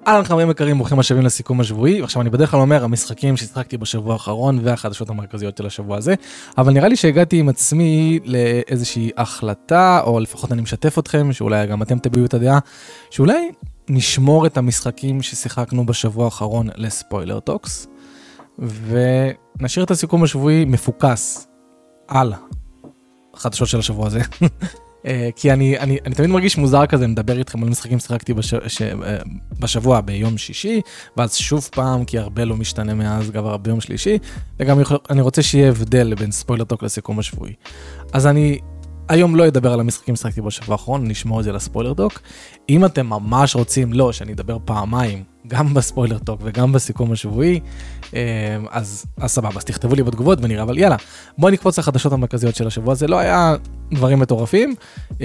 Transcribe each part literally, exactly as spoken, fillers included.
אהלן חברים יקרים, ברוכים השבים לסיכום השבועי, ועכשיו אני בדרך כלל אומר המשחקים שהשחקתי בשבוע האחרון והחדשות המרכזיות של השבוע הזה, אבל נראה לי שהגעתי עם עצמי לאיזושהי החלטה, או לפחות אני משתף אתכם, שאולי גם אתם תביעו את הדעה, שאולי נשמור את המשחקים ששיחקנו בשבוע האחרון לספוילר טוקס, ונשאיר את הסיכום השבועי מפוקס על החדשות של השבוע הזה. כי אני, אני, אני תמיד מרגיש מוזר כזה, מדבר איתכם על משחקים ששיחקתי בש, ש, בשבוע ביום שישי, ואז שוב פעם, כי הרבה לא משתנה מאז, גם הרבה ביום שלישי, וגם אני רוצה שיהיה הבדל בין ספוילר טוק לסיכום השבועי. אז אני היום לא אדבר על המשחקים ששיחקתי בשבוע האחרון, נשמור את זה לספוילר טוק. אם אתם ממש רוצים, לא, שאני אדבר פעמיים, גם בספוילר טוק וגם בסיכום השבועי, אז, אז סבבה, אז תכתבו לי בתגובות ונראה, אבל יאללה, בואו נקפוץ לחדשות המרכזיות של השבוע, זה לא היה דברים מטורפים,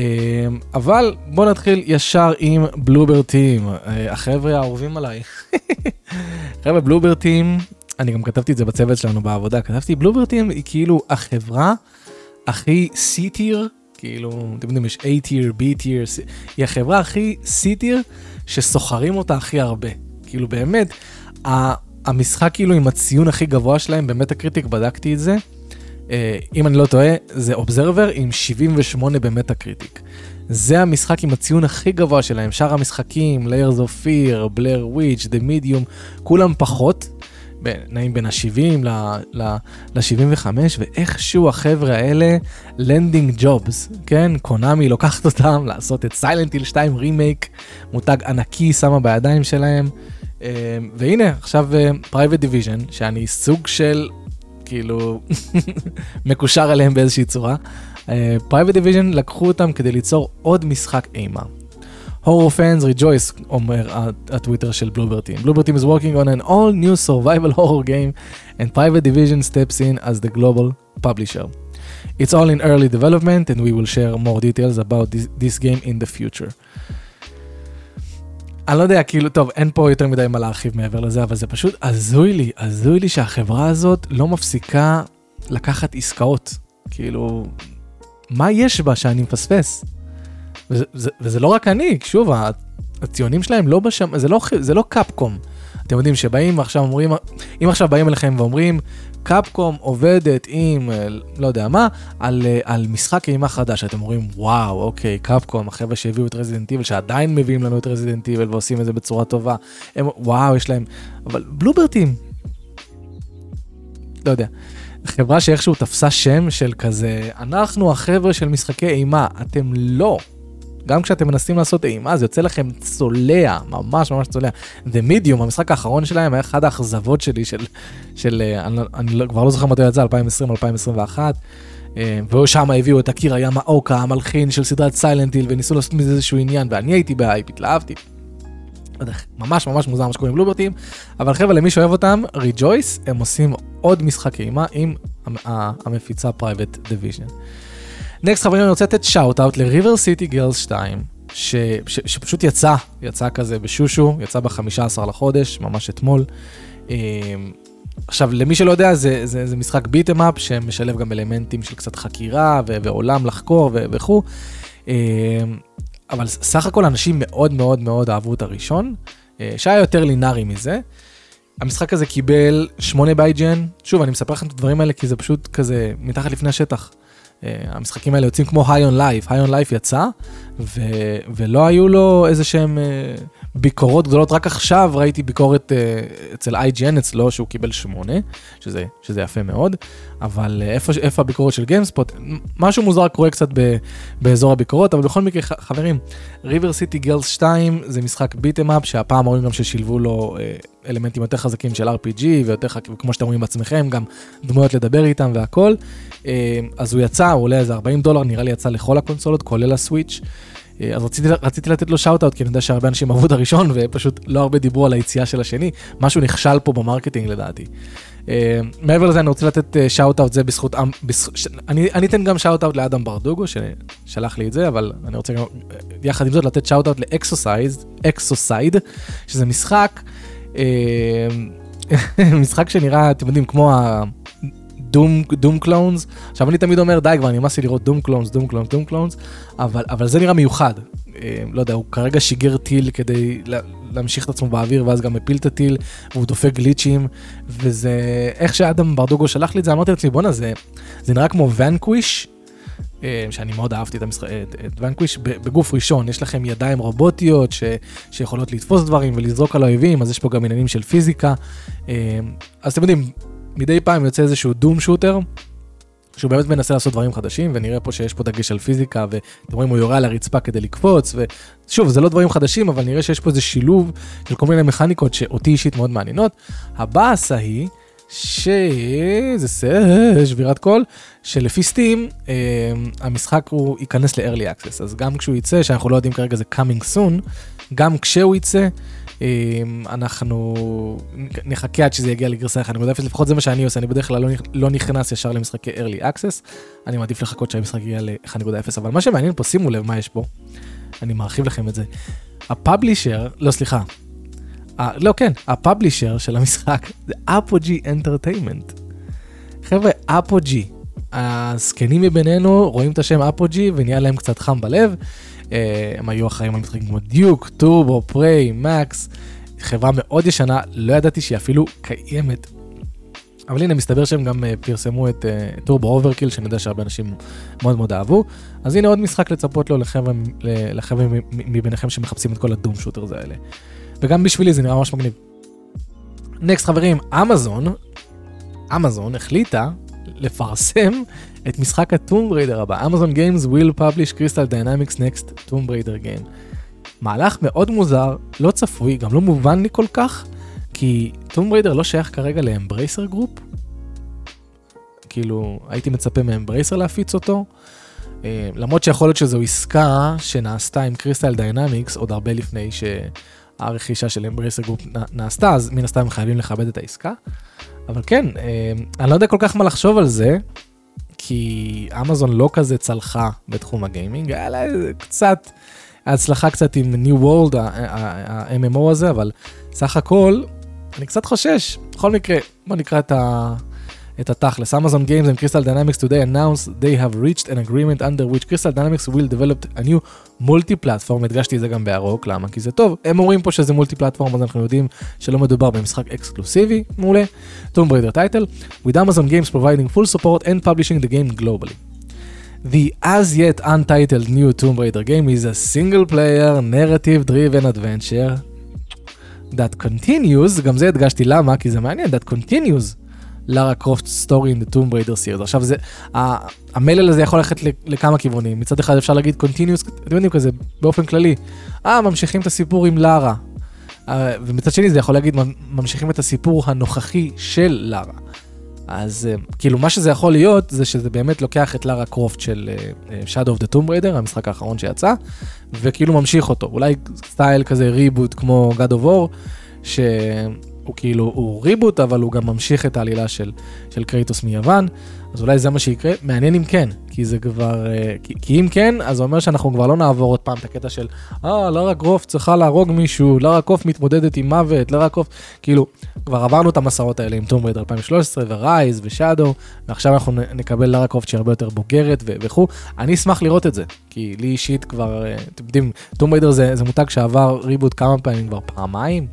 אבל בואו נתחיל ישר עם בלובר טים, החבר'ה האהובים עליי. חבר'ה, בלובר טים, אני גם כתבתי את זה בצוות שלנו בעבודה, כתבתי, בלובר טים היא כאילו החברה הכי C-tier, כאילו, אתם יודעים, יש A-tier, B-tier, היא החברה הכי C-tier שסוחרים אותה הכי הרבה. כאילו באמת, המשחק כאילו עם הציון הכי גבוה שלהם, באמת הקריטיק, בדקתי את זה, אם אני לא טועה, זה Observer עם שבעים ושמונה באמת הקריטיק. זה המשחק עם הציון הכי גבוה שלהם, שאר המשחקים, Layers of Fear, Blair Witch, The Medium, כולם פחות, נעים בין ה-שבעים ל-שבעים וחמש, ואיכשהו החבר'ה האלה, Landing Jobs, כן? קונאמי לוקחת אותם לעשות את Silent Hill שתיים רימייק, מותג ענקי שמה בידיים שלהם, והנה, עכשיו Private Division, שאני סוג של, כאילו, מקושר עליהם באיזושהי צורה, Private Division לקחו אותם כדי ליצור עוד משחק אימה. Horror fans rejoice, אומר הטוויטר של Bloober Team. Bloober Team is working on an all new survival horror game and Private Division steps in as the global publisher. It's all in early development and we will share more details about this, this game in the future. אני לא יודע, כאילו, טוב, אין פה יותר מדי מה להרחיב מעבר לזה, אבל זה פשוט עזוי לי, עזוי לי שהחברה הזאת לא מפסיקה לקחת עסקאות. כאילו, מה יש בה שאני מפספס? וזה, וזה, וזה לא רק אני, שוב, הציונים שלהם לא בשם, זה לא, זה לא קאפקום. אתם יודעים שבאים עכשיו אומרים, אם עכשיו באים אליכם ואומרים, קאפקום עובדת עם, לא יודע מה, על, על משחק אימה חדש, אתם אומרים, וואו, אוקיי, קאפקום, החבר'ה שהביאו את רזידנט איבל, שעדיין מביאים לנו את רזידנט איבל ועושים את זה בצורה טובה, הם, וואו, יש להם, אבל בלובר טים, לא יודע, חברה שאיכשהו תפסה שם של כזה, אנחנו החבר'ה של משחקי אימה, אתם לא, גם כשאתם מנסים לעשות אימה, זה יוצא לכם צולע, ממש ממש צולע. The Medium, המשחק האחרון שלהם, היה אחד האכזבות שלי, של, של אני, אני כבר לא זוכר מתי יצא, אלפיים עשרים אלפיים עשרים ואחת, ושם הביאו את אקירה ימאוקה, המלחין של סדרת סיילנט היל, וניסו לעשות מזה איזשהו עניין, ואני הייתי בהייפ, התלהבתי. ממש ממש מוזר מה שקוראים בלובר טים, אבל חבר'ה, למי שאוהב אותם, Rejoice, הם עושים עוד משחק אימה עם המפיצה Private Division. נקסט חברים, אני רוצה לתת שאוט-אוט ל-River City Girls שתיים, ש, ש, שפשוט יצא, יצא כזה בשושו, יצא ב-חמישה עשר לחודש, ממש אתמול. עכשיו, למי שלא יודע, זה, זה, זה משחק ביט-אמאפ, שמשלב גם אלמנטים של קצת חקירה, ו- ועולם לחקור ו- וכו'. אבל סך הכל אנשים מאוד מאוד מאוד אהבו את הראשון, שהיה יותר לינארי מזה. המשחק הזה קיבל שמונה ב-איי ג'י אן, שוב, אני מספר לכם את הדברים האלה, כי זה פשוט כזה מתחת לפני השטח. המשחקים האלה יוצאים כמו High on Life, High on Life יצא, ו- ולא היו לו איזה שהם ביקורות גדולות, רק עכשיו ראיתי ביקורת אצל איי ג'י אן אצלו, שהוא קיבל שמונה, שזה, שזה יפה מאוד, אבל איפה, איפה הביקורות של GameSpot, משהו מוזר קורה קצת ב- באזור הביקורות, אבל בכל מקרה, חברים, River City Girls שתיים זה משחק ביט-אמאפ, שהפעם אומרים גם ששילבו לו אלמנטים יותר חזקים של אר פי ג'י, ויותר חזקים, כמו שאתם רואים בעצמכם, גם דמויות לדבר איתם והכל, אז הוא יצא, הוא עולה איזה ארבעים דולר, נראה לי יצא לכל הקונסולות, כולל הסוויץ'. אז רציתי, רציתי לתת לו שאוט-אוט, כי אני יודע שהרבה אנשים אהבו את הראשון, ופשוט לא הרבה דיברו על היציאה של השני, משהו נכשל פה במרקטינג לדעתי. מעבר לזה, אני רוצה לתת שאוט-אוט, זה בזכות, אני, אני אתן גם שאוט-אוט לאדם ברדוגו, ששלח לי את זה, אבל אני רוצה גם, יחד עם זאת, לתת שאוט-אוט לאקסוסייד, אקסוסייד, שזה משחק, משחק שנראה, אתם יודעים, כמו ה... דום, דום קלונס. עכשיו אני תמיד אומר, די כבר, אני נמאס לי לראות דום קלונס, דום קלונס, דום קלונס, אבל, אבל זה נראה מיוחד. לא יודע, הוא כרגע שיגר טיל כדי להמשיך את עצמו באוויר, ואז גם מפיל את הטיל, והוא דופק גליצ'ים, וזה, איך שאדם ברדוגו שלח לי את זה, אמרתי לעצמי, בונה, זה, זה נראה כמו ונקוויש, שאני מאוד אהבתי את, המשחק, את, את ונקוויש, בגוף ראשון, יש לכם ידיים רובוטיות, ש, שיכולות לתפוס דברים ולזרוק על האויבים, אז יש פה גם עניינים של פיזיקה, אז אתם יודעים, מדי פעם יוצא איזשהו דום שוטר, שהוא באמת מנסה לעשות דברים חדשים, ונראה פה שיש פה דגש על פיזיקה, ואתם רואים, הוא יורה על הרצפה כדי לקפוץ, ושוב, זה לא דברים חדשים, אבל נראה שיש פה איזה שילוב של כל מיני מכניקות שאותי אישית מאוד מעניינות. הבאסה היא, שזה שבירת קול, שלפי סטים, אה, המשחק הוא ייכנס ל-Early Access, אז גם כשהוא יצא, שאנחנו לא יודעים כרגע זה coming soon, גם כשהוא יצא, אנחנו נחכה עד שזה יגיע לגרסה אחת נקודה אפס, לפחות זה מה שאני עושה, אני בדרך כלל לא נכנס ישר למשחקי Early Access, אני מעדיף לחכות שהמשחק יגיע ל-אחת נקודה אפס, אבל מה שמעניין פה, שימו לב מה יש פה, אני מרחיב לכם את זה, הפאבלישר, לא סליחה, לא כן, הפאבלישר של המשחק, זה Apogee Entertainment, חבר'ה, Apogee, הסקנים מבינינו רואים את השם Apogee ונהיה להם קצת חם בלב, הם היו אחראים על משחקים כמו דיוק, טורבו, פריי, מקס, חברה מאוד ישנה, לא ידעתי שהיא אפילו קיימת. אבל הנה, מסתבר שהם גם פרסמו את טורבו אוברקיל, שאני יודע שהרבה אנשים מאוד מאוד אהבו. אז הנה עוד משחק לצפות לו לחבר'ה מביניכם שמחפשים את כל הדום שוטרס האלה. וגם בשבילי זה נראה ממש מגניב. נקסט חברים, אמזון, אמזון החליטה לפרסם את משחק הטום בריידר הבא. Amazon Games will publish Crystal Dynamics next Tomb Raider game. מהלך מאוד מוזר, לא צפוי, גם לא מובן לי כל כך, כי טום בריידר לא שייך כרגע לאמברייסר גרופ. כאילו, הייתי מצפה מאמברייסר להפיץ אותו. למרות שיכול להיות שזו עסקה שנעשתה עם Crystal Dynamics עוד הרבה לפני שהרכישה של אמברייסר גרופ נעשתה, אז מן הסתם הם חייבים לכבד את העסקה. אבל כן, אני לא יודע כל כך מה לחשוב על זה, כי אמזון לא כזה צלחה בתחום הגיימינג, היה לה קצת, הצלחה קצת עם New World, ה-אם אם או הזה, אבל סך הכל, אני קצת חושש. בכל מקרה, בוא נקרא את ה... את התכלס. Amazon Games and Crystal Dynamics today announced they have reached an agreement under which Crystal Dynamics will develop a new multi-platform. הדגשתי את זה גם בערוק, למה? כי זה טוב. הם אומרים פה שזה multi-platform, אז אנחנו יודעים שלא מדובר במשחק אקסקלוסיבי, מעולה. Tomb Raider title, with Amazon Games providing full support and publishing the game globally. The as yet untitled new Tomb Raider game is a single-player, narrative-driven adventure that continues, גם זה הדגשתי למה, כי זה מעניין, that continues לארה קרופט סטורי in the Tomb Raider series. עכשיו זה, המלל הזה יכול ללכת לכמה כיוונים. מצד אחד אפשר להגיד continuous, אתם יודעים כזה, באופן כללי. אה, ממשיכים את הסיפור עם לארה. ומצד שני זה יכול להגיד, ממשיכים את הסיפור הנוכחי של לארה. אז כאילו מה שזה יכול להיות, זה שזה באמת לוקח את לארה קרופט של Shadow of the Tomb Raider, המשחק האחרון שיצא, וכאילו ממשיך אותו. אולי סטייל כזה ריבוט כמו God of War, ש... הוא כאילו, הוא ריבוט, אבל הוא גם ממשיך את העלילה של, של קרייטוס מיוון, אז אולי זה מה שיקרה, מעניין אם כן, כי זה כבר, כי, כי אם כן, אז זה אומר שאנחנו כבר לא נעבור עוד פעם את הקטע של, אה, לארה קרופט צריכה להרוג מישהו, לארה קרופט מתמודדת עם מוות, לארה קרופט, כאילו, כבר עברנו את המסעות האלה עם טום בריידר אלפיים ושלוש עשרה, ורייז ושאדו, ועכשיו אנחנו נקבל לארה קרופט שהיא הרבה יותר בוגרת וכו', אני אשמח לראות את זה, כי לי אישית כבר, אתם יודעים, טום בריידר זה, זה מותג שעבר ריבוט כמה פעמים, כבר פעמיים,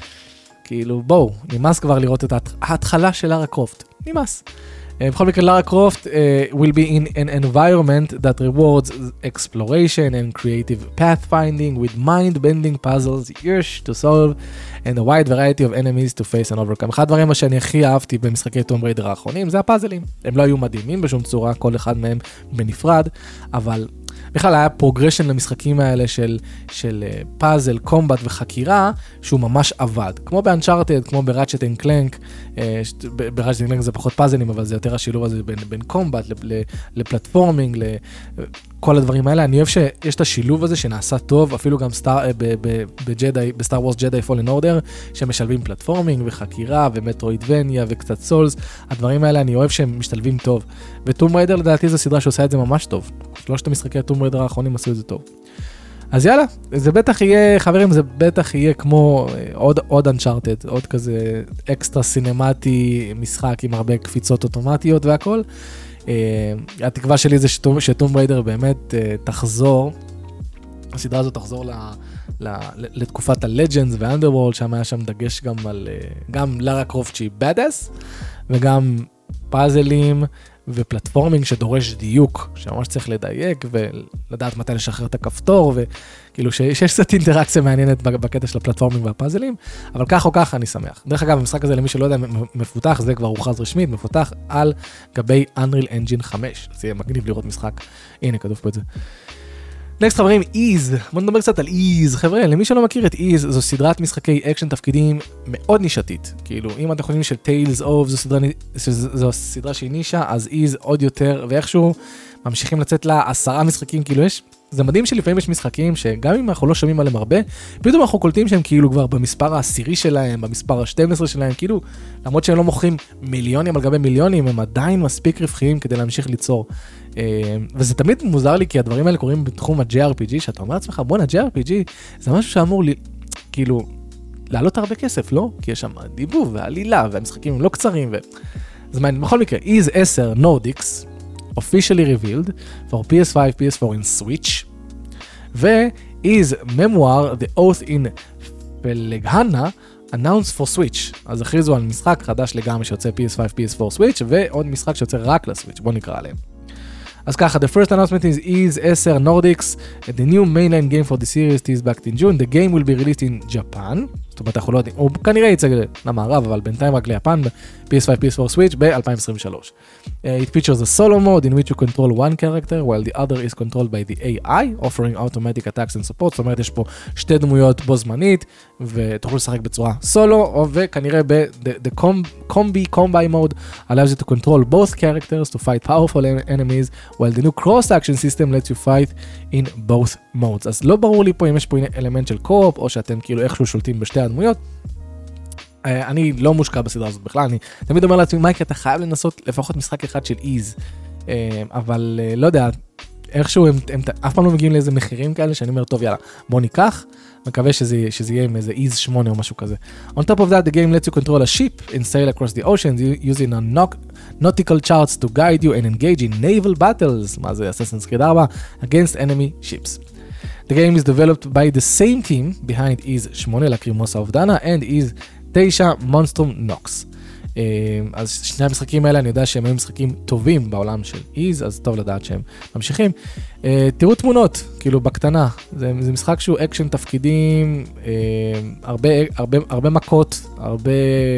כאילו, בואו, נמאס כבר לראות את ההתחלה של לארה קרופט. נמאס. בכל מקרה, לארה קרופט will be in an environment that rewards exploration and creative pathfinding with mind-bending puzzles, years to solve, and a wide variety of enemies to face and overcome. אחד הדברים שאני הכי אהבתי במשחקי טום בריידר האחרונים, זה הפאזלים. הם לא היו מדהימים בשום צורה, כל אחד מהם בנפרד, אבל... בכלל היה פרוגרשן למשחקים האלה של, של פאזל, קומבט וחקירה, שהוא ממש עבד. כמו באנצ'ארטד, כמו בראצ'ט אנד קלנק, בראצ'ט אנד קלנק זה פחות פאזלים, אבל זה יותר השילוב הזה בין, בין קומבט לפלטפורמינג, לכל הדברים האלה. אני אוהב שיש את השילוב הזה שנעשה טוב, אפילו גם סטאר, בג'די, בסטאר וורס ג'די פולן אורדר, שמשלבים פלטפורמינג וחקירה ומטרואידבניה וקצת סולס. הדברים האלה אני אוהב שהם משתלבים טוב. וטום ריידר לדעתי זו סדרה שעושה את זה ממש טוב. שלושת המשחקי הטום ריידר האחרונים עשו את זה טוב. אז יאללה, זה בטח יהיה, חברים, זה בטח יהיה כמו עוד, עוד Uncharted, עוד כזה אקסטרה סינמטי, משחק עם הרבה קפיצות אוטומטיות והכל. Uh, התקווה שלי זה שטום בריידר באמת uh, תחזור, הסדרה הזאת תחזור ל, ל, לתקופת הלג'נדס והאנדרוולד, שם היה שם דגש גם על, uh, גם לארה קרופט שהיא בדאס, וגם פאזלים ופלטפורמינג שדורש דיוק, שממש צריך לדייק ולדעת מתי לשחרר את הכפתור, וכאילו שיש קצת אינטראקציה מעניינת בקטע של הפלטפורמינג והפאזלים, אבל כך או כך אני שמח. דרך אגב, המשחק הזה למי שלא יודע, מפותח, זה כבר הוכרז רשמית, מפותח על גבי Unreal Engine חמש, זה יהיה מגניב לראות משחק, הנה כתוב פה את זה. נקסט חברים, איז, בוא נדבר קצת על איז, חבר'ה, למי שלא מכיר את איז, זו סדרת משחקי אקשן תפקידים מאוד נישתית, כאילו, אם אתם חושבים של Tales of, זו סדרה, זו סדרה שהיא נישה, אז איז עוד יותר, ואיכשהו ממשיכים לצאת לה עשרה משחקים, כאילו יש, זה מדהים שלפעמים יש משחקים שגם אם אנחנו לא שומעים עליהם הרבה, פתאום אנחנו קולטים שהם כאילו כבר במספר העשירי שלהם, במספר ה-שתים עשרה שלהם, כאילו, למרות שהם לא מוכרים מיליונים על גבי מיליונים, הם עדיין מספיק רווחיים כדי להמשיך ליצור. וזה תמיד מוזר לי, כי הדברים האלה קורים בתחום ה-ג'יי אר פי ג'י, שאתה אומר לעצמך, בוא נה-ג'יי אר פי ג'י, זה משהו שאמור לי, כאילו, לעלות הרבה כסף, לא? כי יש שם דיבוב ועלילה, והמשחקים הם לא קצרים, ו... אז מה, בכל מקרה, איז עשר Nordics, officially revealed, for פי אס פייב, פי אס פור in Switch, ו-Is Memoir, The Oath in Felghana, announced for Switch. אז הכריזו על משחק חדש לגמרי שיוצא פי אס פייב, פי אס פור Switch, ועוד משחק שיוצא רק לסוויץ', בוא נקרא עליהם. אז ככה, the first announcement is Is עשר Nordics, the new mainline game for the series is back in June, the game will be released in Japan, זאת אומרת, אנחנו לא יודעים, הוא כנראה יצא למערב, אבל בינתיים רק ליפן, פי אס פייב, פי אס פור Switch, ב-אלפיים עשרים ושלוש. Uh, it features a solo mode in which you control one character, while the other is controlled by the איי איי, offering automatic attacks and support, זאת אומרת, יש פה שתי דמויות בו זמנית, ותוכלו לשחק בצורה סולו, וכנראה ב-the combi, combi mode, allows you to control both characters to fight powerful enemies, while the new cross-action system lets you fight in both modes. אז לא ברור לי פה אם יש פה אלמנט של קו-אופ, או שאתם כאילו איכשהו שולטים בשתי הדמויות. אני לא מושקע בסדרה הזאת בכלל, אני תמיד אומר לעצמי, מייקי, אתה חייב לנסות לפחות משחק אחד של איז, אבל לא יודע, איכשהו הם, הם אף פעם לא מגיעים לאיזה מחירים כאלה, שאני אומר, טוב, יאללה, בוא ניקח, מקווה שזה, שזה יהיה עם איזה איז שמונה או משהו כזה. On top of that, the game lets you control a ship and sail across the oceans using a nautical charts to guide you and engage in naval battles, מה זה, Assassin's Creed ארבע, against enemy ships. The game is developed by the same team behind איז שמונה, לקרימוסה אובדנה, and איז תשע, מונסטרום נוקס. אז שני המשחקים האלה, אני יודע שהם היו משחקים טובים בעולם של איז, אז טוב לדעת שהם ממשיכים. תראו תמונות, כאילו בקטנה, זה, זה משחק שהוא אקשן תפקידים, הרבה, הרבה, הרבה מכות, הרבה...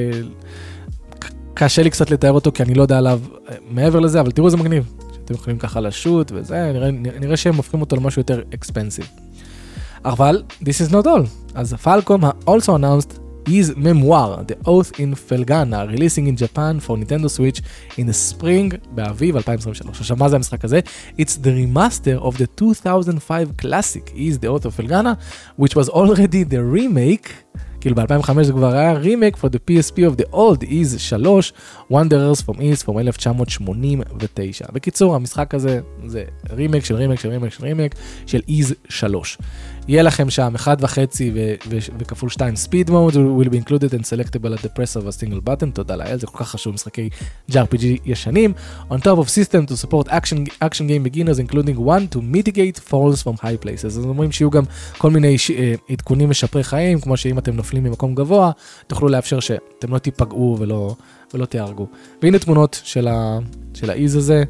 קשה לי קצת לתאר אותו, כי אני לא יודע עליו מעבר לזה, אבל תראו זה מגניב, שאתם יכולים ככה לשוט וזה, נראה, נראה שהם הופכים אותו למשהו יותר expensive. אבל, this is not all. אז Falcom also announced Is Memoir, The Oath in Felghana, releasing in Japan for Nintendo Switch in the spring, באביב אלפיים עשרים ושלוש. עכשיו, מה זה המשחק הזה? It's the remaster of the two thousand five classic, Is The Oath of Felghana, which was already the remake, כאילו ב-אלפיים וחמש זה כבר היה remake for the פי אס פי of the old Is שלוש, Wanderers from Is from אלף תשע מאות שמונים ותשע. בקיצור, המשחק הזה זה רימייק של רימייק של רימייק של רימייק של Is שלוש. יהיה לכם שם אחד וחצי וכפול שתיים speed mode, will be included and selectable at the press of a single button, תודה לאל, זה כל כך חשוב, משחקי ג'י אר פי ג'י ישנים. On top of system to support action, action game beginners, including one to mitigate falls from high places. אז אומרים שיהיו גם כל מיני עדכונים משפרי חיים, כמו שאם אתם נופלים ממקום גבוה, תוכלו לאפשר שאתם לא תיפגעו ולא, ולא תיהרגו. והנה תמונות של ה, של האיז הזה.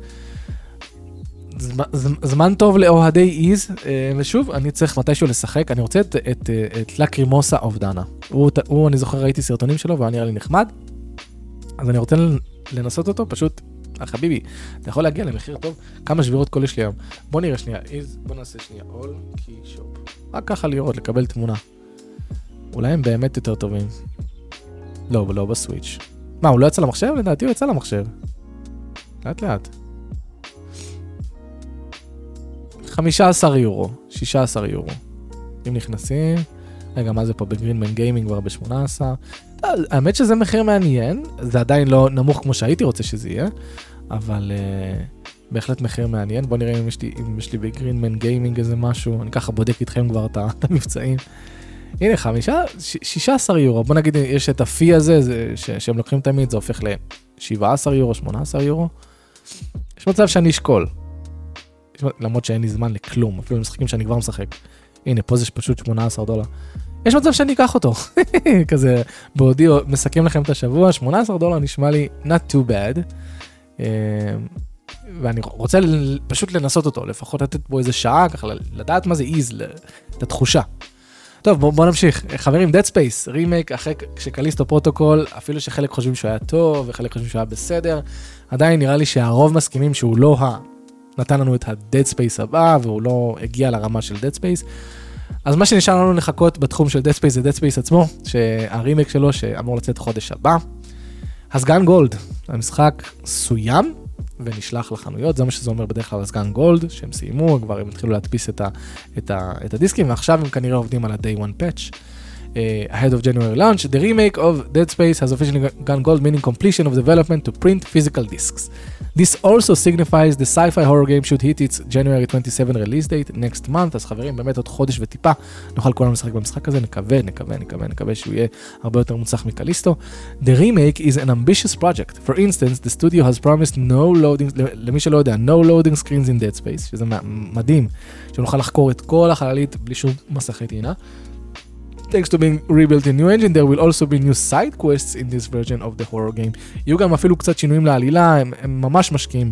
זמן טוב לאוהדי איז, ושוב, אני צריך מתישהו לשחק, אני רוצה את, את, את לקרימוסה אובדנה. הוא, הוא, אני זוכר, ראיתי סרטונים שלו, והוא נראה לי נחמד, אז אני רוצה לנסות אותו, פשוט, חביבי, אתה יכול להגיע למחיר טוב, כמה שבירות קול יש לי היום. בוא נראה שנייה, איז, בוא נעשה שנייה, all key shop. רק ככה לראות, לקבל תמונה. אולי הם באמת יותר טובים. לא, לא בסוויץ'. מה, הוא לא יצא למחשב? לדעתי הוא יצא למחשב. לאט לאט. חמישה עשר יורו, שישה עשר יורו. אם נכנסים, רגע, מה זה פה בגרינמן גיימינג כבר ב-שמונה עשרה? האמת שזה מחיר מעניין, זה עדיין לא נמוך כמו שהייתי רוצה שזה יהיה, אבל בהחלט מחיר מעניין. בוא נראה אם יש לי, אם יש לי בגרינמן גיימינג איזה משהו, אני ככה בודק איתכם כבר את המבצעים. הנה, חמישה, שישה עשר יורו, בוא נגיד, יש את הפי הזה, זה, ש, שהם לוקחים תמיד, זה הופך ל-שבעה עשר יורו, שמונה עשר יורו. יש מצב שאני אשקול. למרות שאין לי זמן לכלום, אפילו משחקים שאני כבר משחק. הנה, פה זה פשוט שמונה עשר דולר. יש מצב שאני אקח אותו. כזה, בעודי מסכם לכם את השבוע, שמונה עשר דולר נשמע לי not too bad. ואני רוצה פשוט לנסות אותו, לפחות לתת בו איזה שעה, ככה לדעת מה זה איז, את התחושה. טוב, בואו בוא נמשיך. חברים, Dead Space, רימייק, אחרי שקליסטו פרוטוקול, אפילו שחלק חושבים שהוא היה טוב, וחלק חושבים שהוא היה בסדר, עדיין נראה לי שהרוב מסכימים שהוא לא ה... נתן לנו את ה-Dead Space הבא, והוא לא הגיע לרמה של Dead Space. אז מה שנשאר לנו לחכות בתחום של Dead Space זה Dead Space עצמו, שהרימייק שלו שאמור לצאת חודש הבא. הסגן גולד, המשחק סוים ונשלח לחנויות, זה מה שזה אומר בדרך כלל הסגן גולד, שהם סיימו, כבר הם התחילו להדפיס את, ה, את, ה, את הדיסקים, ועכשיו הם כנראה עובדים על ה-Day One Patch. Uh, ahead of January launch, the remake of Dead Space has officially gone gold, meaning completion of development to print physical discs. This also signifies the sci-fi horror game should hit its January twenty-seventh release date next month. אז חברים, באמת עוד חודש וטיפה נוכל כולנו לשחק במשחק הזה, נקווה, נקווה, נקווה, נקווה שהוא יהיה הרבה יותר מוצלח מקליסטו. The remake is an ambitious project. For instance, the studio has promised no loading, למי שלא יודע, no loading screens in Dead Space, שזה מדהים, שנוכל לחקור את כל החללית בלי שום מסכי טעינה. Thanks to being rebuilt in new engine, there will also be new side quests in this version of the horror game. יהיו גם אפילו קצת שינויים לעלילה, הם, הם ממש משקיעים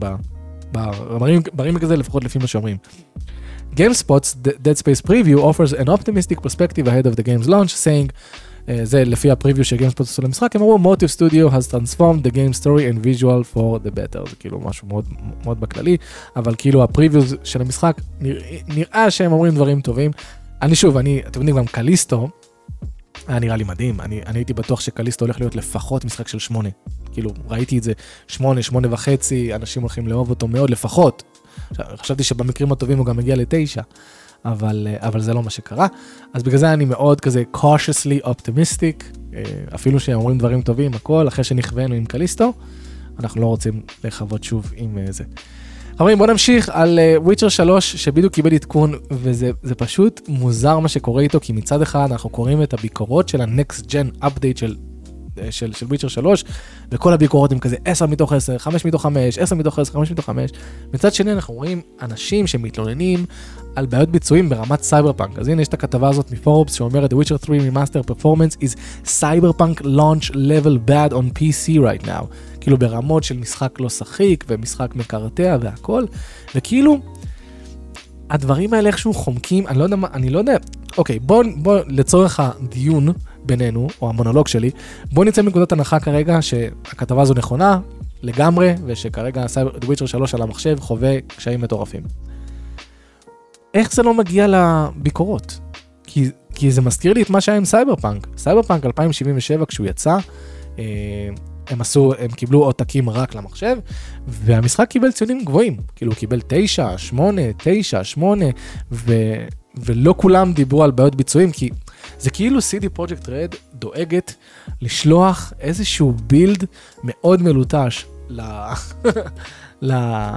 ברימייק הזה, לפחות לפי מה שאומרים. GameSpot's Dead Space preview offers an optimistic perspective ahead of the game's launch, saying, uh, זה לפי הפריוויו שגיימספוט עשו למשחק, הם אמרו, Motive Studio has transformed the game story and visual for the better. זה כאילו משהו מאוד, מאוד בכללי, אבל כאילו הפריוויו של המשחק, נראה, נראה שהם אומרים דברים טובים. אני שוב, אני, אתם יודעים, גם קליסטו, היה נראה לי מדהים, אני, אני הייתי בטוח שקליסטו הולך להיות לפחות משחק של שמונה. כאילו, ראיתי את זה שמונה, שמונה וחצי, אנשים הולכים לאהוב אותו מאוד, לפחות. חשבתי שבמקרים הטובים הוא גם מגיע לתשע, אבל, אבל זה לא מה שקרה. אז בגלל זה אני מאוד כזה cautiously optimistic, אפילו שהם אומרים דברים טובים, הכל, אחרי שנכוונו עם קליסטו, אנחנו לא רוצים לחוות שוב עם זה. חברים, בואו נמשיך על וויצ'ר שלוש, שבדיוק קיבל עדכון, וזה זה פשוט מוזר מה שקורה איתו, כי מצד אחד אנחנו קוראים את הביקורות של ה-Next Gen Update של, של, של וויצ'ר שלוש, וכל הביקורות הם כזה עשר מתוך עשר, חמש מתוך חמש, עשר מתוך עשר, חמש מתוך חמש. מצד שני אנחנו רואים אנשים שמתלוננים על בעיות ביצועים ברמת סייברפאנק. אז הנה יש את הכתבה הזאת מפורבס שאומרת, The Witcher three Remaster Performance is Cyberpunk launch level bad on פי סי right now. כאילו ברמות של משחק לא שחיק ומשחק מקרטע והכל, וכאילו הדברים האלה איכשהו חומקים, אני לא יודע מה, אני לא יודע, אוקיי, בוא, בוא לצורך הדיון בינינו, או המונולוג שלי, בוא נצא מנקודת הנחה כרגע שהכתבה הזו נכונה לגמרי, ושכרגע The Witcher שלוש על המחשב חווה קשיים מטורפים. איך זה לא מגיע לביקורות? כי, כי זה מזכיר לי את מה שהיה עם סייברפאנק. סייברפאנק אלפיים שבעים ושבע כשהוא יצא, אה, הם עשו, הם קיבלו עותקים רק למחשב, והמשחק קיבל ציונים גבוהים, כאילו הוא קיבל תשע, שמונה, תשע, שמונה, ו, ולא כולם דיברו על בעיות ביצועים, כי זה כאילו סי די Projekt Red דואגת לשלוח איזשהו בילד מאוד מלוטש ל... ל...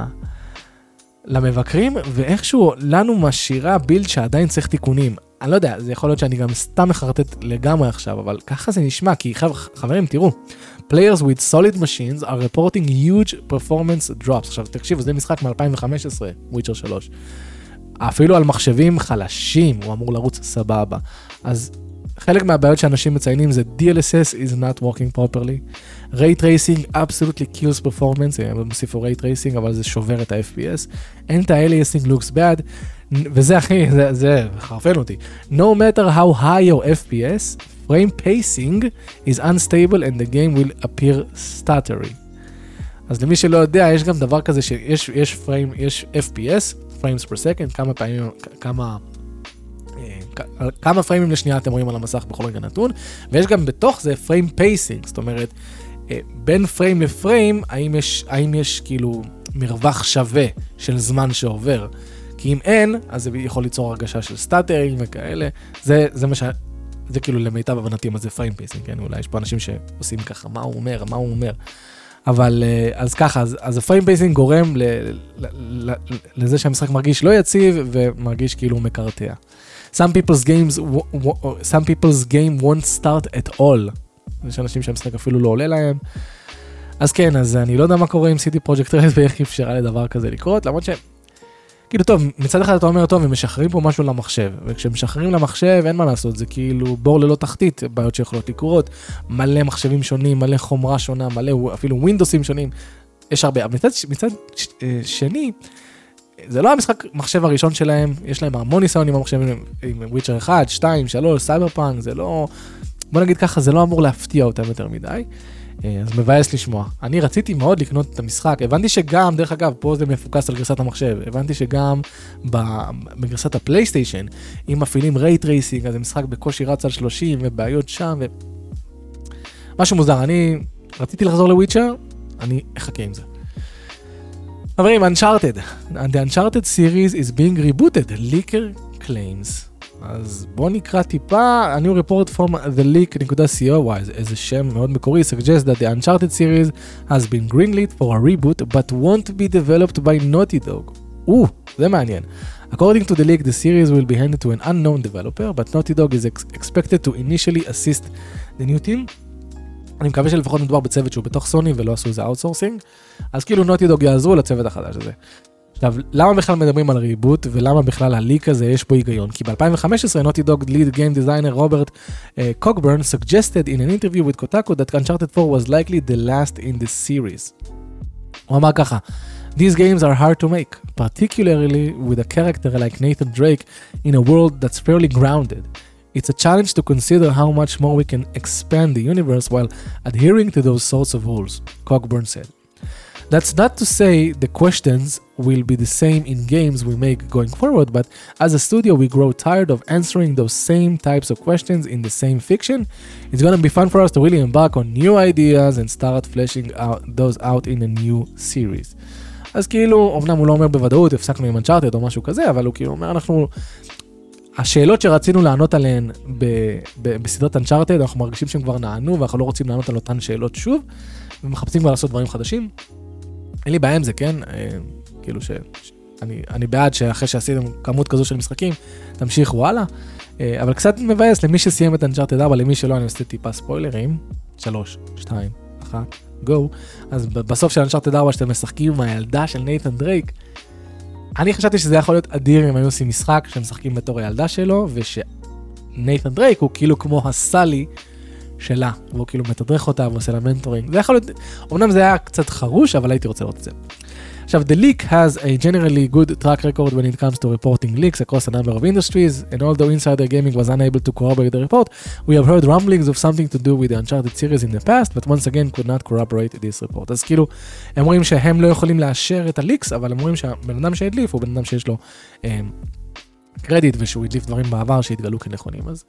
למבקרים, ואיכשהו לנו משאירה בילד שעדיין צריך תיקונים. אני לא יודע, זה יכול להיות שאני גם סתם מחרטט לגמרי עכשיו, אבל ככה זה נשמע, כי חברים, תראו, players with solid machines are reporting huge performance drops. עכשיו, תקשיבו, זה משחק מ-אלפיים וחמש עשרה, וויצ'ר שלוש. אפילו על מחשבים חלשים, הוא אמור לרוץ סבבה. אז חלק מהבעיות שאנשים מציינים זה די אל אס אס is not working properly. Ray tracing absolutely kills performance, הם מוסיפו Ray tracing, אבל זה שובר את ה-אף פי אס. Anti-aliasing looks bad, וזה אחי, זה, זה חרפן אותי. No matter how high your אף פי אס, frame pacing is unstable and the game will appear stuttery. אז למי שלא יודע, יש גם דבר כזה שיש יש frame, יש אף פי אס, frames per second, כמה פעמים, כמה... כמה פריימים לשנייה אתם רואים על המסך בכל רגע נתון, ויש גם בתוך זה פריים פייסינג, זאת אומרת, בין פריים לפריים, האם יש, האם יש כאילו מרווח שווה של זמן שעובר, כי אם אין, אז זה יכול ליצור הרגשה של סטאטרינג וכאלה, זה, זה מה ש... זה כאילו למיטב הבנתי מה זה פריים פייסינג, כן? אולי יש פה אנשים שעושים ככה, מה הוא אומר, מה הוא אומר, אבל אז ככה, אז, אז הפריים פייסינג גורם ל, ל, ל, לזה שהמשחק מרגיש לא יציב, ומרגיש כאילו הוא מקרטע. Some people's games, some people's game won't start at all. יש אנשים שהמשחק אפילו לא עולה להם. אז כן, אז אני לא יודע מה קורה עם City Project Red ואיך אפשרה לדבר כזה לקרות, למרות ש... כאילו טוב, מצד אחד אתה אומר טוב, הם משחררים פה משהו למחשב, וכשמשחררים למחשב אין מה לעשות, זה כאילו בור ללא תחתית, בעיות שיכולות לקרות, מלא מחשבים שונים, מלא חומרה שונה, מלא אפילו ווינדוסים שונים, יש הרבה, אבל מצד, מצד שני, זה לא המשחק מחשב הראשון שלהם, יש להם המון ניסיון עם המחשבים, עם וויצ'ר אחד, שתיים, שלוש, סייברפאנק, זה לא, בוא נגיד ככה, זה לא אמור להפתיע אותם יותר מדי. אז מבאס לשמוע. אני רציתי מאוד לקנות את המשחק, הבנתי שגם, דרך אגב, פה זה מפוקס על גרסת המחשב, הבנתי שגם בגרסת הפלייסטיישן, אם מפעילים רייט רייסינג, אז המשחק בקושי רץ על שלושים, ובעיות שם, ו... משהו מוזר, אני רציתי לחזור לוויצ'ר, אני אחכה עם זה. חברים, Uncharted. The Uncharted series is being rebooted, leaker claims. אז בוא נקרא טיפה, a new report from the leak.co, וואי, איזה שם מאוד מקורי, suggests that the Uncharted series has been greenlit for a reboot, but won't be developed by Naughty Dog. או, זה מעניין. According to the leak, the series will be handed to an unknown developer, but Naughty Dog is ex- expected to initially assist the new team. אני מקווה שלפחות מדובר בצוות שהוא בתוך סוני ולא עשו איזה אאוטסורסינג, אז כאילו Naughty Dog יעזרו לצוות החדש הזה. עכשיו, למה בכלל מדברים על ריבוט, ולמה בכלל הליק הזה יש פה היגיון? כי ב-אלפיים וחמש עשרה, Naughty Dog lead game designer Robert uh, Cogburn suggested in an interview with Kotaku that Uncharted four was likely the last in the series. הוא אמר ככה, These games are hard to make, particularly with a character like Nathan Drake in a world that's fairly grounded. It's a challenge to consider how much more we can expand the universe while adhering to those sorts of rules, Cogburn said. That's not to say the questions will be the same in games we make going forward, but as a studio we grow tired of answering those same types of questions in the same fiction. It's gonna be fun for us to really embark on new ideas and start fleshing out those out in a new series. אז כאילו, אמנם הוא לא אומר בוודאות, הפסקנו עם Uncharted או משהו כזה, אבל הוא כאילו אומר, אנחנו... השאלות שרצינו לענות עליהן ב- ב- בסדרת Uncharted, אנחנו מרגישים שהם כבר נענו, ואנחנו לא רוצים לענות על אותן שאלות שוב, ומחפשים כבר לעשות דברים חדשים. אין לי בעיה עם זה, כן? כאילו ש... אני, אני בעד שאחרי שעשיתם כמות כזו של משחקים, תמשיכו הלאה. אבל קצת מבאס למי שסיים את Uncharted ארבע, למי שלא, אני עושה טיפה ספוילרים. שלוש, שתיים, אחת, גו. אז בסוף של Uncharted ארבע, שאתם משחקים עם הילדה של נייתן דרייק, אני חשבתי שזה יכול להיות אדיר אם היו עושים משחק שהם משחקים בתור הילדה שלו, ושנייתן דרייק הוא כאילו כמו הסלי שלה, והוא כאילו מתדרך אותה ועושה לה מנטורינג. זה יכול להיות, אמנם זה היה קצת חרוש, אבל הייתי רוצה לראות את זה. עכשיו, the leak has a generally good track record when it comes to reporting leaks across a number of industries, and although Insider Gaming was unable to corroborate the report, we have heard rumblings of something to do with the Uncharted series in the past, but once again could not corroborate this report. אז כאילו, הם רואים שהם לא יכולים לאשר את הליקס, אבל הם רואים שהבן אדם שהדליף הוא בן אדם שיש לו אה, קרדיט, ושהוא הדליף דברים בעבר שהתגלו כנכונים. אז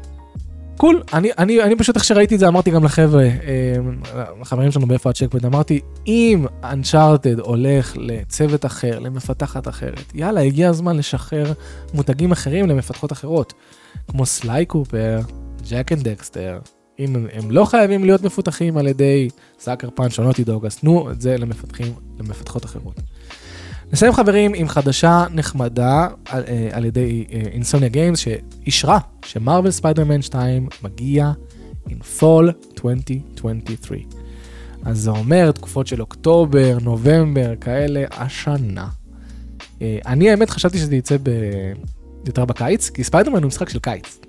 קול, אני, אני, אני פשוט איך שראיתי את זה, אמרתי גם לחבר'ה, אה, לחברים שלנו באיפה הצ'קפוינט, אמרתי, אם Uncharted הולך לצוות אחר, למפתחת אחרת, יאללה, הגיע הזמן לשחרר מותגים אחרים למפתחות אחרות, כמו סליי קופר, ג'ק אנד דקסטר, אם הם, הם לא חייבים להיות מפותחים על ידי סאקר פאנץ' או נוטי דוג, אז תנו את זה למפתחים, למפתחות אחרות. נסיים חברים עם חדשה נחמדה על, על ידי אינסומניה גיימס שאישרה שמרוול ספיידרמן שתיים מגיע in fall twenty twenty-three. אז זה אומר תקופות של אוקטובר, נובמבר, כאלה, השנה. אני האמת חשבתי שזה יצא ב... יותר בקיץ, כי ספיידרמן הוא משחק של קיץ.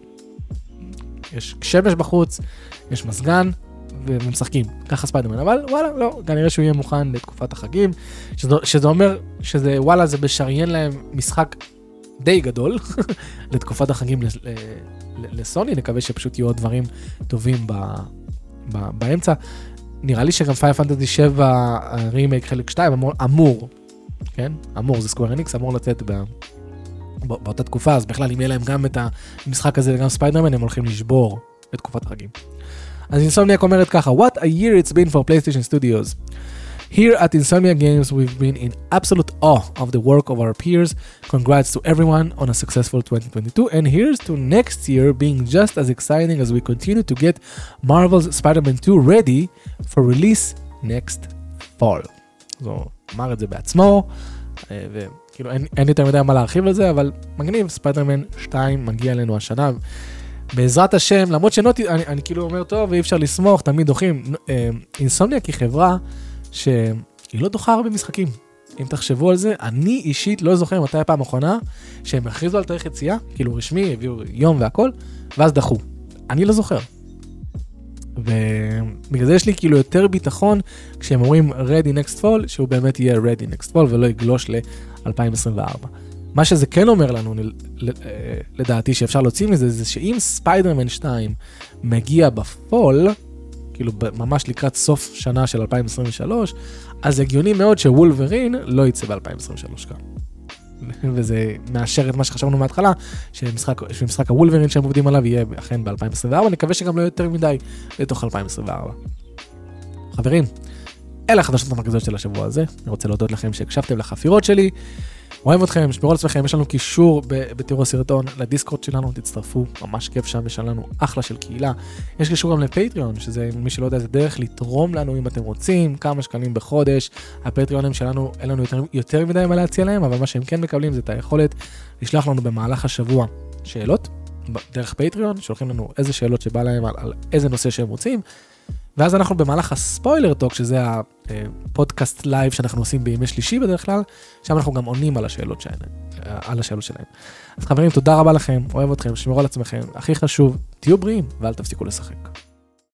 יש שמש בחוץ, יש מזגן, ומשחקים, ככה ספיידרמן, אבל וואלה, לא, כנראה שהוא יהיה מוכן לתקופת החגים, שזה, שזה אומר שזה וואלה, זה בשריין להם משחק די גדול, לתקופת החגים לסוני, נקווה שפשוט יהיו עוד דברים טובים ב, ב, באמצע. נראה לי שגם פיינל פנטזי שבע רימייק חלק שתיים אמור, אמור, כן? אמור, זה סקוואר אניקס, אמור לצאת ב... באותה תקופה, אז בכלל אם יהיה להם גם את המשחק הזה וגם ספיידרמן, הם הולכים לשבור את תקופת החגים. אז אינסומניאק אומרת ככה, What a year it's been for PlayStation Studios. Here at Insomnia Games, we've been in absolute awe of the work of our peers. Congrats to everyone on a successful twenty twenty-two, and here's to next year being just as exciting as we continue to get Marvel's Spider-Man two ready for release Next Fall. אז הוא אמר את זה בעצמו, וכאילו אין, אין יותר מדי מה להרחיב על זה, אבל מגניב, ספיידרמן שתיים מגיע אלינו השנה, בעזרת השם, למרות שנוטי, אני, אני כאילו אומר טוב, ואי אפשר לסמוך, תמיד דוחים. אינסומניאק היא חברה שהיא לא דוחה הרבה משחקים. אם תחשבו על זה, אני אישית לא זוכר מתי הפעם האחרונה שהם הכריזו על תאריך יציאה, כאילו רשמי, הביאו יום והכל, ואז דחו. אני לא זוכר. ובגלל זה יש לי כאילו יותר ביטחון כשהם אומרים Ready Next Fall, שהוא באמת יהיה Ready Next Fall ולא יגלוש ל-אלפיים עשרים וארבע. מה שזה כן אומר לנו, לדעתי, שאפשר להוציא מזה, זה שאם ספיידרמן שתיים מגיע בפול, כאילו ממש לקראת סוף שנה של אלפיים עשרים ושלוש, אז הגיוני מאוד שוולברין לא יצא ב-אלפיים עשרים ושלוש כאן. וזה מאשר את מה שחשבנו מההתחלה, שמשחק, שמשחק הוולברין שהם עובדים עליו יהיה אכן ב-אלפיים עשרים וארבע, נקווה שגם לא יותר מדי לתוך אלפיים עשרים וארבע. חברים, אלה החדשות המרכזיות של השבוע הזה, אני רוצה להודות לכם שהקשבתם לחפירות שלי, אוהב אתכם, שמרו על עצמכם, יש לנו קישור בתיאור הסרטון לדיסקורד שלנו, תצטרפו, ממש כיף שם, יש לנו אחלה של קהילה, יש קישור גם לפטריון, שזה מי שלא יודע, זה דרך לתרום לנו אם אתם רוצים, כמה שקלים בחודש, הפטריונים שלנו, אין לנו יותר, יותר מדי מה להציע להם, אבל מה שהם כן מקבלים זה את היכולת לשלוח לנו במהלך השבוע שאלות, דרך פטריון, שולחים לנו איזה שאלות שבא להם על, על איזה נושא שהם רוצים, ואז אנחנו במהלך הספוילר טוק, שזה הפודקאסט לייב שאנחנו עושים בימי שלישי בדרך כלל, שם אנחנו גם עונים על השאלות שלהם. על השאלות שלהם. אז חברים, תודה רבה לכם, אוהב אתכם, שמרו על עצמכם, הכי חשוב, תהיו בריאים ואל תפסיקו לשחק.